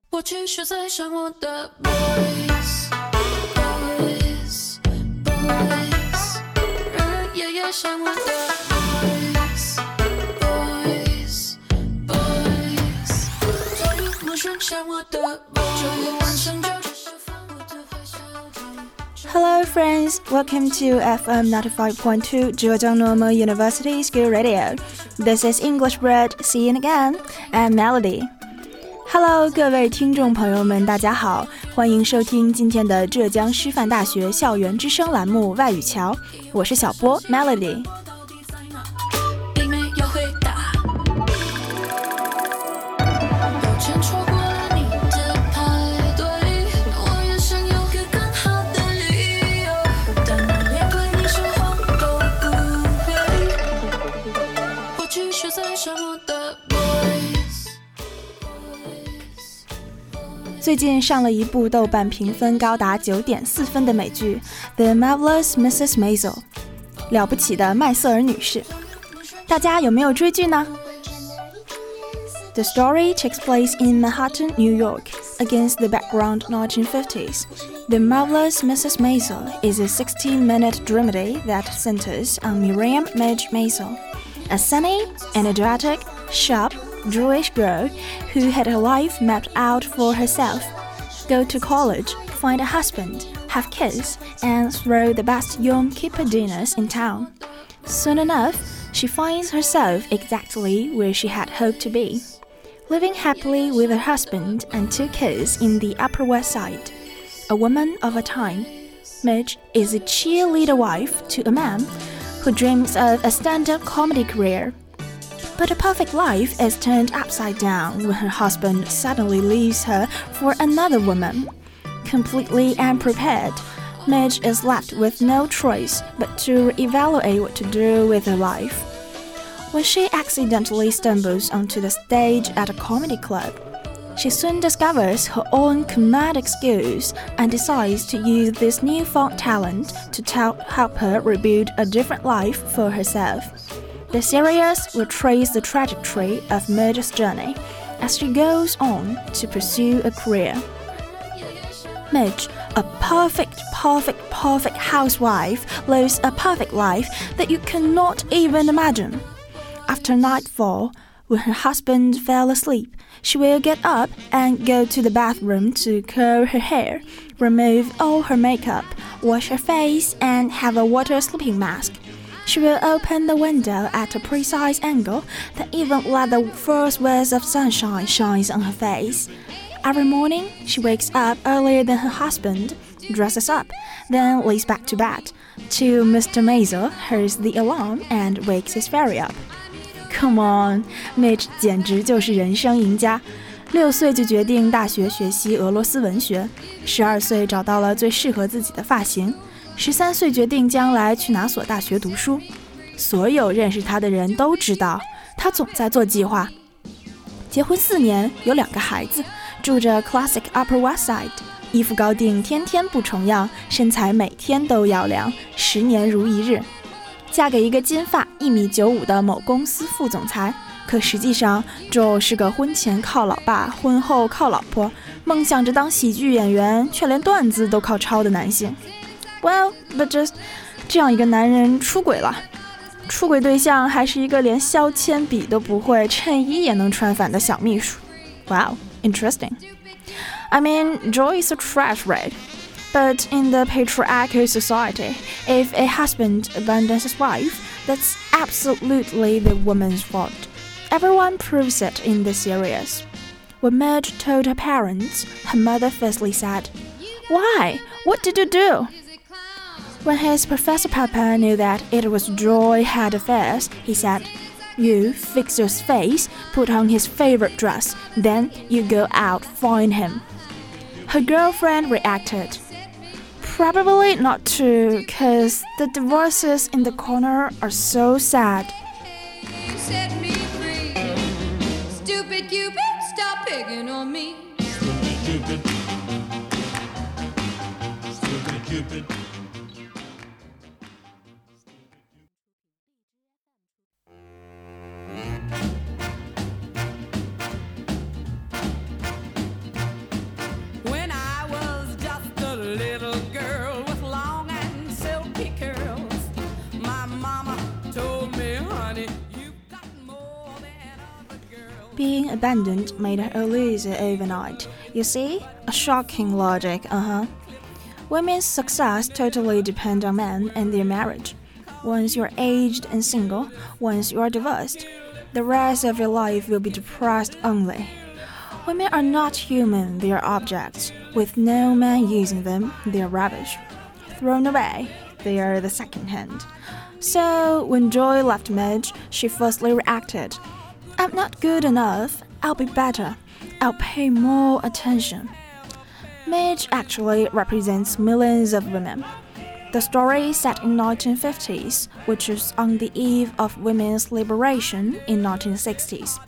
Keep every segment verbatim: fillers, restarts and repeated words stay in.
我继续在想我的 boys boys boys 人也也想我的 boys boys boys 昨日陌生想我的 boys 这夜晚上就只是放我的坏笑中 Hello friends, welcome to F M ninety-five point two Zhejiang Normal University School Radio. This is English Bread, see you again, I'm Melody.Hello， 各位听众朋友们，大家好，欢迎收听今天的浙江师范大学校园之声栏目外语桥，我是小波 Melody。最近上了一部豆瓣评分高达 九点四 分的美剧 The Marvelous Missus Maisel 了不起的麦瑟尔女士，大家有没有追剧呢？ The story takes place in Manhattan, New York, against the background nineteen fifties. The Marvelous Missus Maisel is a sixty-minute dramedy that centers on Miriam Midge Maisel, a sunny, energetic, sharp, Jewish girl who had her life mapped out for herself. Go to college, find a husband, have kids, and throw the best Yom Kippur dinners in town. Soon enough, she finds herself exactly where she had hoped to be, living happily with her husband and two kids in the Upper West Side. A woman of a time, Midge is a cheerleader wife to a man who dreams of a stand-up comedy career.But a perfect life is turned upside down when her husband suddenly leaves her for another woman. Completely unprepared, Midge is left with no choice but to evaluate what to do with her life. When she accidentally stumbles onto the stage at a comedy club, she soon discovers her own comedic skills and decides to use this newfound talent to help her rebuild a different life for herself.The series will trace the trajectory of Midge's journey as she goes on to pursue a career. Midge, a perfect, perfect, perfect housewife, lives a perfect life that you cannot even imagine. After nightfall, when her husband fell asleep, she will get up and go to the bathroom to curl her hair, remove all her makeup, wash her face, and have a water sleeping mask.She will open the window at a precise angle that even let the first rays of sunshine shines on her face. Every morning, she wakes up earlier than her husband, dresses up, then lays back to bed, till Mister Maisel hears the alarm and wakes his fairy up. Come on, Midge 简直就是人生赢家。六岁就决定大学学习俄罗斯文学，十二岁找到了最适合自己的发型。十三岁决定将来去哪所大学读书，所有认识他的人都知道，他总在做计划。结婚四年，有两个孩子，住着 Classic Upper West Side， 衣服高定，天天不重样，身材每天都要量，十年如一日。嫁给一个金发一米九五的某公司副总裁，可实际上Joe是个婚前靠老爸，婚后靠老婆，梦想着当喜剧演员，却连段子都靠抄的男性。Well, but just 这样一个男人出轨了，出轨对象还是一个连削铅笔都不会，衬衣也能穿反的小秘书。Wow, interesting. I mean, Joy is a trash rat. But in the patriarchal society, if a husband abandons his wife, that's absolutely the woman's fault. Everyone proves it in the series. When Midge told her parents, her mother firstly said, "Why? What did you do?"When his Professor Papa knew that it was Joy had affairs, he said, "You fix your face, put on his favorite dress, then you go out, find him." Her girlfriend reacted, "Probably not true, 'cause the divorces in the corner are so sad." You set me free. Stupid Cupid, stop picking on me. Stupid Cupid. Stupid Cupid. being abandoned made her a loser overnight. You see? A shocking logic, uh-huh. Women's success totally depends on men and their marriage. Once you're aged and single, once you're divorced, the rest of your life will be depressed only. Women are not human, they are objects. With no man using them, they are rubbish. Thrown away, they are the second hand. So, when Joy left Midge, she firstly reacted, I'm not good enough, I'll be better, I'll pay more attention. Midge actually represents millions of women. The story set in nineteen fifties, which is on the eve of women's liberation in nineteen sixties.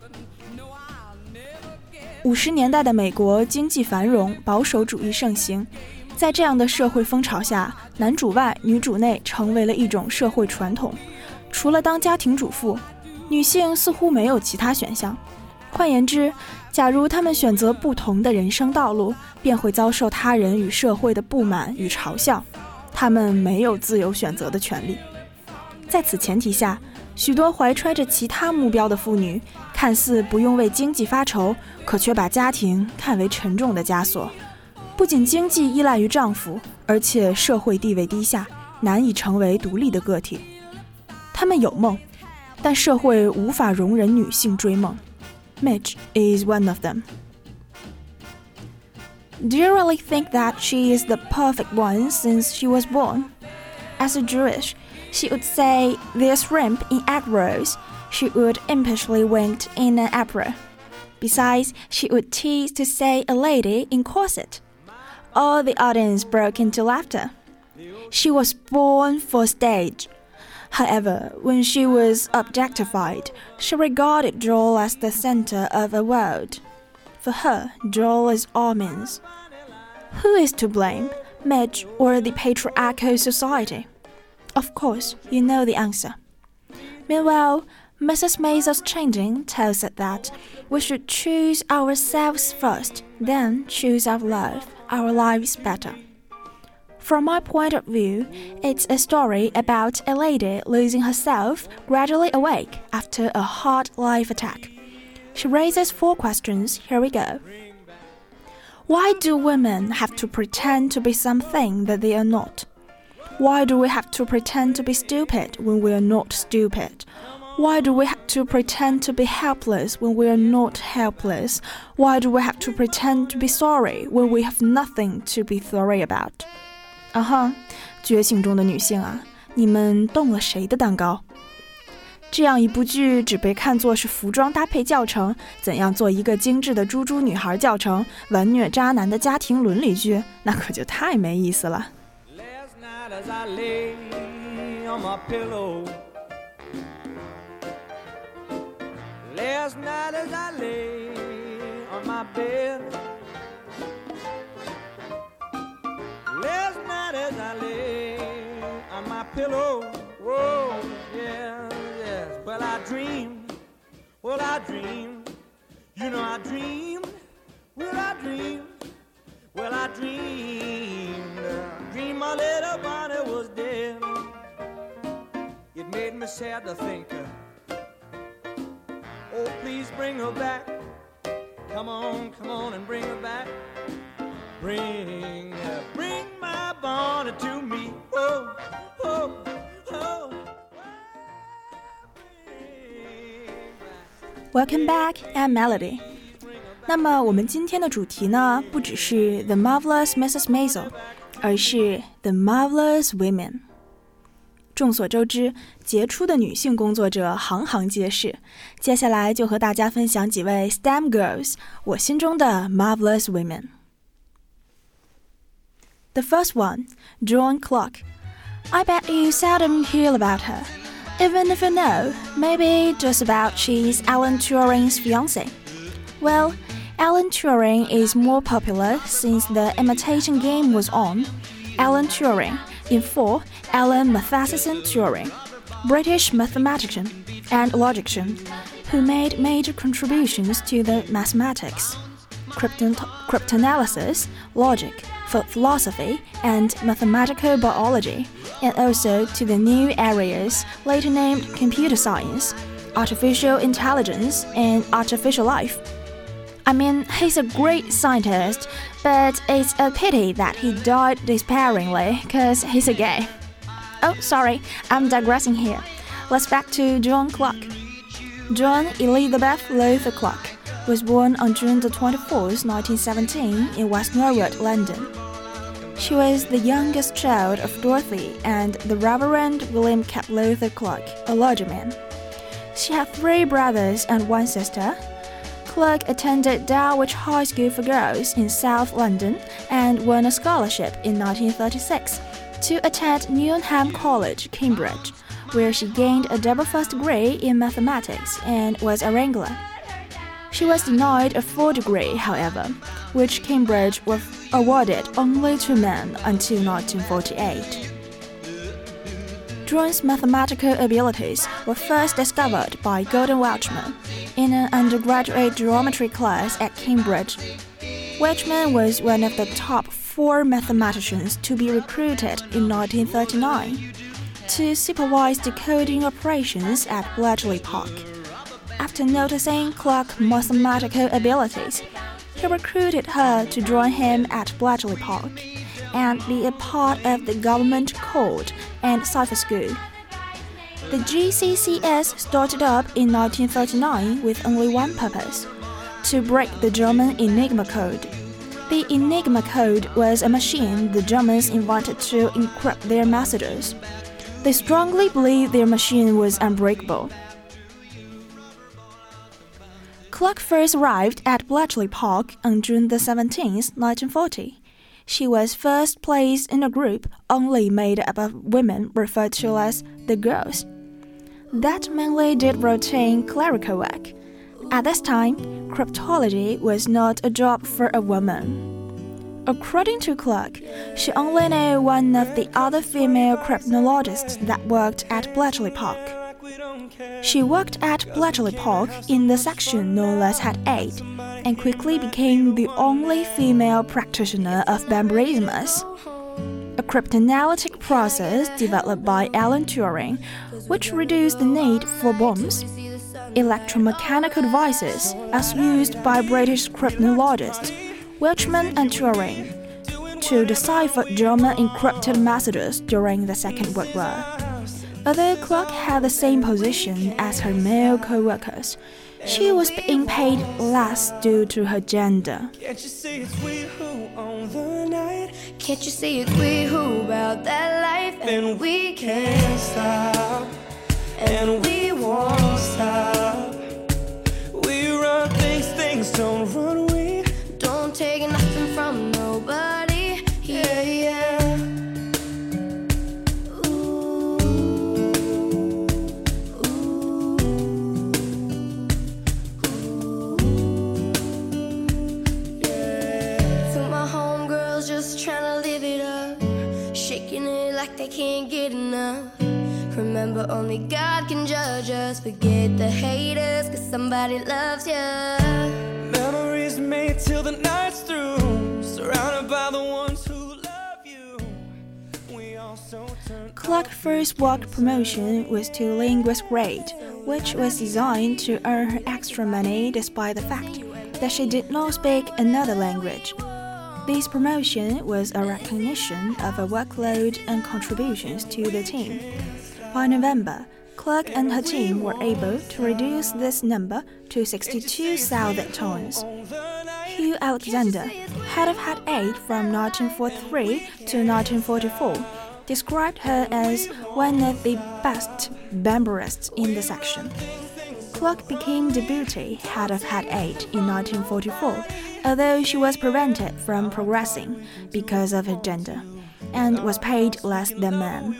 五十年代的美国经济繁荣，保守主义盛行。在这样的社会风潮下，男主外女主内成为了一种社会传统。除了当家庭主妇，女性似乎没有其他选项。换言之，假如她们选择不同的人生道路，便会遭受他人与社会的不满与嘲笑。她们没有自由选择的权利。在此前提下，许多怀揣着其他目标的妇女，看似不用为经济发愁，可却把家庭看为沉重的枷锁。不仅经济依赖于丈夫，而且社会地位低下，难以成为独立的个体。她们有梦，但社会无法容忍女性追梦。Midge is one of them. Do you really think that she is the perfect one since she was born? As a Jewish, she would say there's shrimp in egg rolls. She would impishly wink in an apron. Besides, she would tease to say a lady in corset. All the audience broke into laughter. She was born for stage. However, when she was objectified, she regarded Joel as the center of a world. For her, Joel is all means. Who is to blame, Midge or the patriarchal society? Of course, you know the answer. Meanwhile, Missus Maisel's changing tells us that we should choose ourselves first, then choose our love, our lives better. From my point of view, it's a story about a lady losing herself gradually awake after a hard life attack. She raises four questions. Here we go. Why do women have to pretend to be something that they are not? Why do we have to pretend to be stupid when we are not stupid? Why do we have to pretend to be helpless when we are not helpless? Why do we have to pretend to be sorry when we have nothing to be sorry about? 啊哈，觉醒中的女性啊，你们动了谁的蛋糕？这样一部剧只被看作是服装搭配教程，怎样做一个精致的猪猪女孩教程，完虐渣男的家庭伦理剧，那可就太没意思了。Last night as I lay on my bed, last night as I lay on my pillow, whoa, yes, yes, well I dreamed, well I dreamed, you know I dreamed, well I dreamed, well I dreamed, dreamed my little Bonnie was dead. It made me sad to think, oh, please bring her back. Come on, come on and bring her back. Bring, bring my Bonnie to me. Oh, oh, oh. Welcome back, I'm Melody. 那么我们今天的主题呢，不只是 The Marvelous Missus Maisel， 而是 The Marvelous Women。众所周知，杰出的女性工作者行行皆是。接下来就和大家分享几位 S T E M Girls， 我心中的 Marvelous Women。 The first one, Joan Clark. I bet you seldom hear about her. Even if you know, maybe just about she's Alan Turing's fiancée. Well, Alan Turing is more popular since the Imitation Game was on. Alan Turing,In full, Alan Matheson Turing, British mathematician and logician, who made major contributions to the mathematics, crypton- cryptanalysis, logic, philosophy, and mathematical biology, and also to the new areas later named computer science. artificial intelligence, and artificial life. I mean, he's a great scientist, but it's a pity that he died despairingly because he's a gay. Oh, sorry, I'm digressing here. Let's back to Joan Clark. Joan Elizabeth Lowther Clark was born on June the twenty-fourth, nineteen seventeen, in West Norwood, London. She was the youngest child of Dorothy and the Reverend William Cap Lowther Clark, a clergyman. She had three brothers and one sister. Clark attended Dulwich High School for Girls in South London and won a scholarship in nineteen thirty-six to attend Newnham College, Cambridge, where she gained a double first degree in mathematics and was a wrangler. She was denied a full degree, however, which Cambridge was awarded only to men until nineteen forty-eight. Joan's mathematical abilities were first discovered by Gordon Welchman in an undergraduate geometry class at Cambridge. Welchman was one of the top four mathematicians to be recruited in nineteen thirty-nine to supervise decoding operations at Bletchley Park. After noticing Clark's mathematical abilities, he recruited her to join him at Bletchley Park and be a part of the government code and cipher school. The G C C S started up in nineteen thirty-nine with only one purpose: to break the German Enigma code. The Enigma code was a machine the Germans invented to encrypt their messages. They strongly believed their machine was unbreakable. Clark first arrived at Bletchley Park on June the seventeenth, nineteen forty. She was first placed in a group only made up of women referred to as the girls. That mainly did routine clerical work. At this time, cryptology was not a job for a woman. According to Clark, she only knew one of the other female cryptologists that worked at Bletchley Park. She worked at Bletchley Park in the section known as Hat eight and quickly became the only female practitioner of Bambarismus, a cryptanalytic process developed by Alan Turing, which reduced the need for bombs. Electromechanical devices as used by British cryptologists Welchman and Turing to decipher German encrypted messages during the Second World War. Although Clark had the same position as her male co-workers, she was being paid less due to her gender. Can't you see it's we who own the night? Can't you see it's we who about that life? And we can't stop, and we won't stop. We run things, things don't run. We Don't take nothing from nobody. Yeah, yeah. Like they can't get enough. Remember, only God can judge us. Forget the haters, cause somebody loves ya. memories made till the night's through, surrounded by the ones who love you. We also turn. Clark's first work promotion was to linguist grade, which was designed to earn her extra money despite the fact that she did not speak another language. This promotion was a recognition of her workload and contributions to the team. By November, Clark and her team were able to reduce this number to sixty-two thousand tons. Hugh Alexander, head of Hat eight from nineteen forty-three to nineteen forty-four, described her as one of the best Bambarists in the section. Clark became deputy head of Hat eight in nineteen forty-four, although she was prevented from progressing because of her gender, and was paid less than men.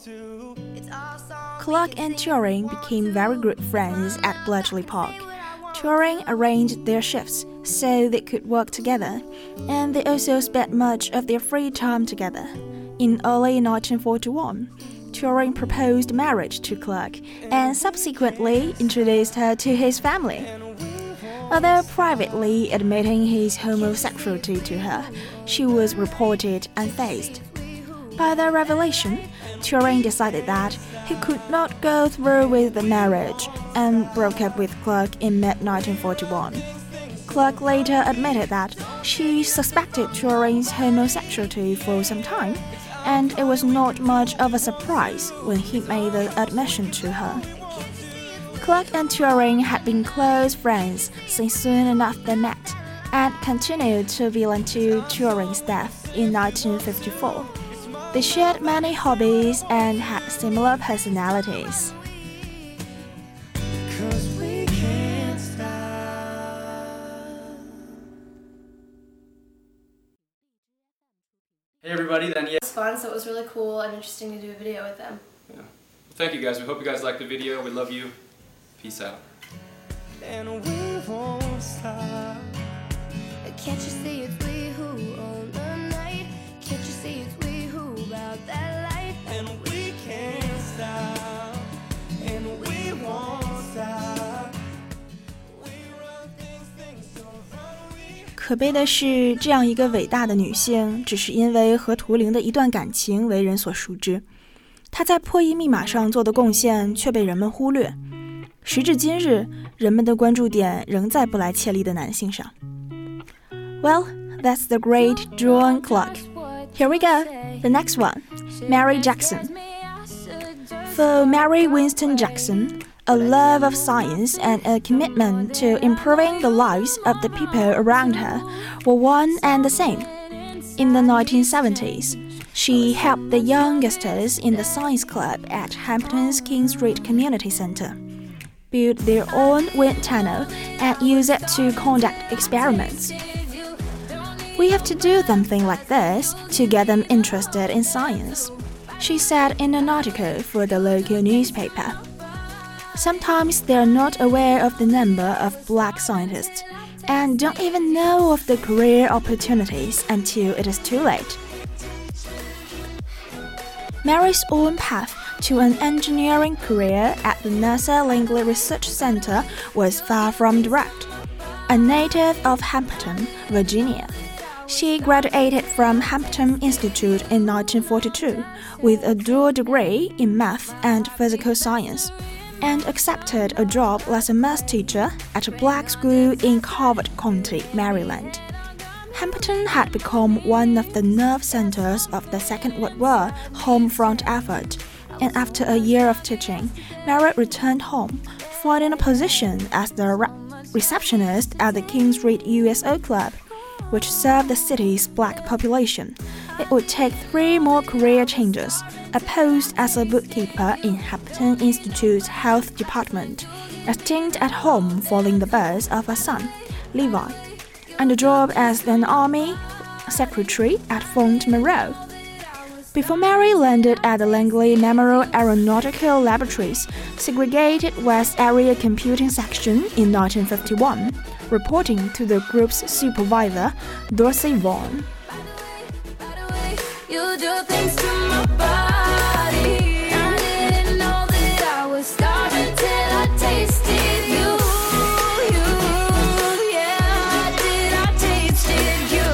Clark and Turing became very good friends at Bletchley Park. Turing arranged their shifts so they could work together, and they also spent much of their free time together. In early nineteen forty-one, Turing proposed marriage to Clark and subsequently introduced her to his family. Although privately admitting his homosexuality to her, she was reported unfazed. By their revelation, Turing decided that he could not go through with the marriage and broke up with Clark in mid nineteen forty-one. Clark later admitted that she suspected Turing's homosexuality for some time, and it was not much of a surprise when he made the admission to her. Clark and Turing had been close friends since soon enough they met, and continued to be until Turing's death in nineteen fifty-four. They shared many hobbies and had similar personalities. 'Cause we can't stop. Hey everybody, then yeah. It was fun, so it was really cool and interesting to do a video with them. yeah. Well, thank you guys. We hope you guys liked the video. We love you. Peace out. And we won't stop. Can't you see it's we who own the night? Can't you see it's we who about that life? And we can't stop. And we won't stop. We run things, things don't run. We 可悲的是，这样一个伟大的女性，只是因为和图灵的一段感情为人所熟知。她在破译密码上做的贡献却被人们忽略。时至今日，人们的关注点仍在布莱切利的男性上。Well, that's the great Joan Clark. Here we go. The next one, Mary Jackson. For Mary Winston Jackson, a love of science and a commitment to improving the lives of the people around her were one and the same. In the nineteen seventies, she helped the youngsters in the science club at Hampton's King Street Community Center build their own wind tunnel and use it to conduct experiments. We have to do something like this to get them interested in science, she said in an article for the local newspaper. Sometimes they are not aware of the number of black scientists and don't even know of the career opportunities until it is too late. Mary's own path to an engineering career at the NASA Langley Research Center was far from direct. A native of Hampton, Virginia, she graduated from Hampton Institute in nineteen forty-two with a dual degree in math and physical science, and accepted a job as a math teacher at a black school in Calvert County, Maryland. Hampton had become one of the nerve centers of the Second World War home front effort, and after a year of teaching, Mary returned home, finding a position as the re- receptionist at the King Street U S O Club, which served the city's black population. It would take three more career changes, a post as a bookkeeper in Hampton Institute's health department, a stint at home following the birth of a son, Levi, and a job as an army secretary at Fort Monroe. Before Mary landed at the Langley Memorial Aeronautical Laboratories, segregated West Area Computing Section in nineteen fifty-one, reporting to the group's supervisor, Dorsey Vaughan. You do things to my body. I didn't know that I was starving till I tasted you. You, yeah, did I tasted you?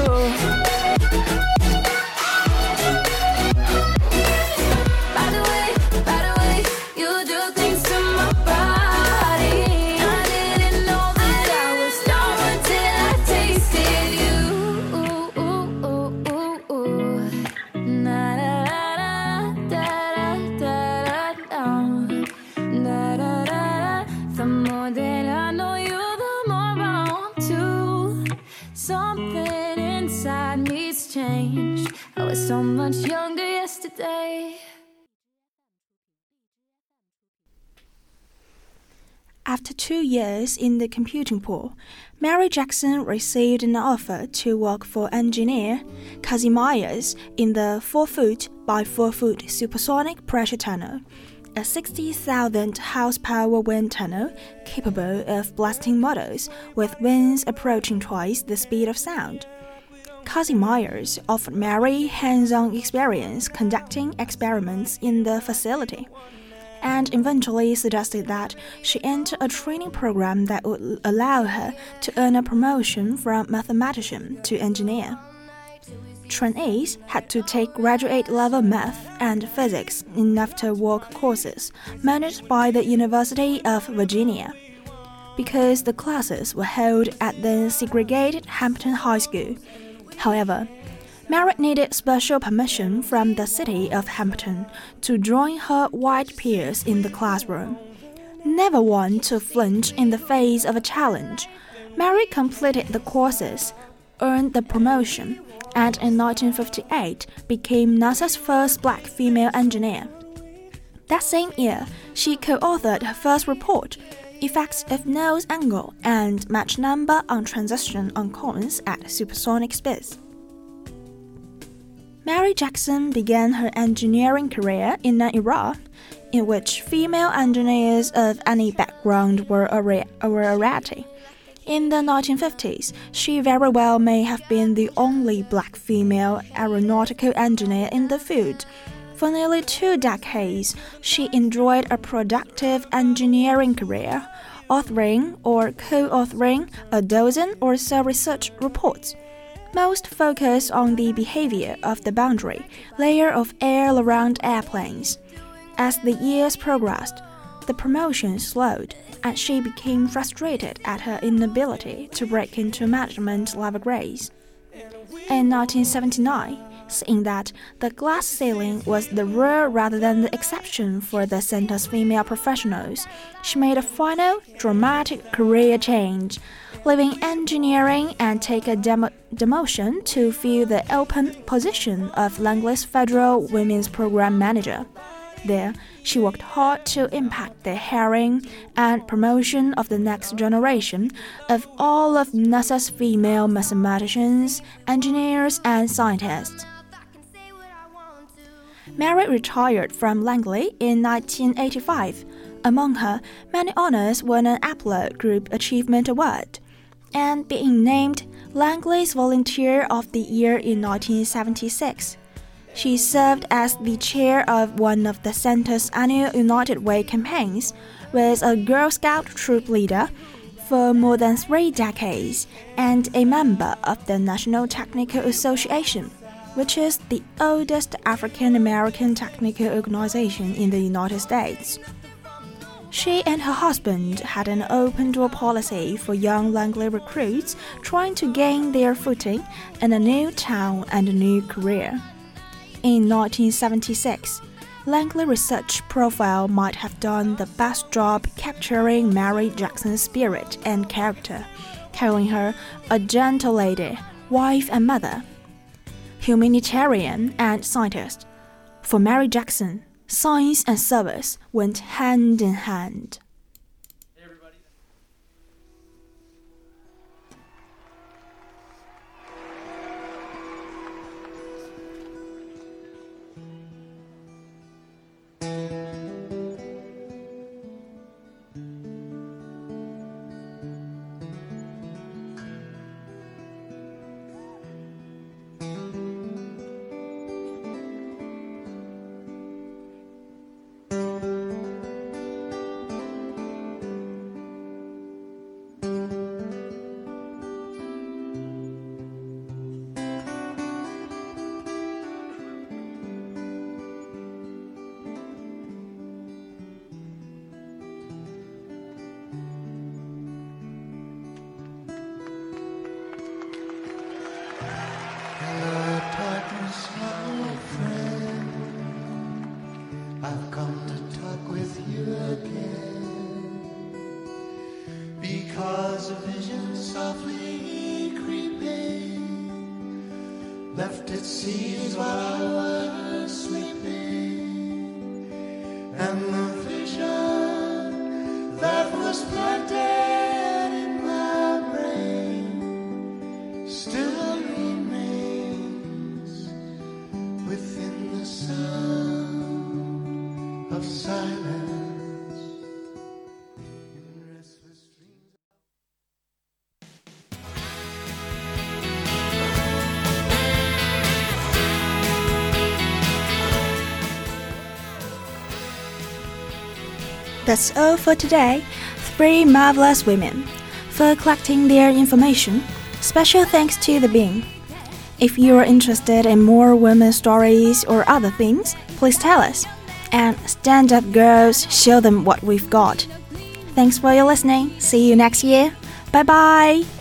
By the way, by the way, you do things to my body. I didn't know that I was starving till I tasted you. Ooh, ooh, ooh, ooh, ooh. Na da da da da da da da da da. The more that I know you, the more I want to. Something inside me's changed. I was so much younger yesterday. After two years in the computing pool, Mary Jackson received an offer to work for engineer Cassie Myers in the four foot by four foot supersonic pressure tunnel, a sixty thousand horsepower wind tunnel capable of blasting models with winds approaching twice the speed of sound. Cassie Myers offered Mary hands-on experience conducting experiments in the facility, and eventually suggested that she enter a training program that would allow her to earn a promotion from mathematician to engineer. trainees had to take graduate-level math and physics in after-work courses managed by the University of Virginia, because the classes were held at the segregated Hampton High School. However, Mary needed special permission from the city of Hampton to join her white peers in the classroom. Never one to flinch in the face of a challenge, Mary completed the courses, earned the promotion, and in nineteen fifty-eight became NASA's first black female engineer. That same year, she co-authored her first report, Effects of Nose Angle and Match Number on Transition on Cones at Supersonic Speeds. Mary Jackson began her engineering career in an era in which female engineers of any background were a, ra- were a rarity. In the nineteen fifties, she very well may have been the only black female aeronautical engineer in the field. For nearly two decades, she enjoyed a productive engineering career, authoring or co-authoring a dozen or so research reports. Most focus on the behavior of the boundary layer of air around airplanes. As the years progressed, the promotion slowed, and she became frustrated at her inability to break into management-level grades. In nineteen seventy-nine, seeing that the glass ceiling was the rule rather than the exception for the center's female professionals, she made a final, dramatic career change, leaving engineering and take a demo- demotion to fill the open position of Langley's Federal Women's Program Manager. There, she worked hard to impact the hiring and promotion of the next generation of all of NASA's female mathematicians, engineers, and scientists. Mary retired from Langley in nineteen eighty-five. Among her many honors were an Apple Group Achievement Award, and being named Langley's Volunteer of the Year in nineteen seventy-six. She served as the chair of one of the center's annual United Way campaigns, was a Girl Scout troop leader for more than three decades, and a member of the National Technical Association, which is the oldest African-American technical organization in the United States. She and her husband had an open-door policy for young Langley recruits trying to gain their footing in a new town and a new career. In nineteen seventy-six, Langley Research Profile might have done the best job capturing Mary Jackson's spirit and character, calling her a gentle lady, wife and mother, humanitarian and scientist. For Mary Jackson, science and service went hand in hand. I've come to talk with you again, because a vision softly creeping left its seeds while I was sleeping, and the vision that was planted in my brain still remains within the sound of silence in restless dreams. That's all for today. Three marvelous women for collecting their information. Special thanks to the Bing. If you're interested in more women's stories or other things, please tell us. And stand up girls, show them what we've got. Thanks for your listening. See you next year. Bye bye.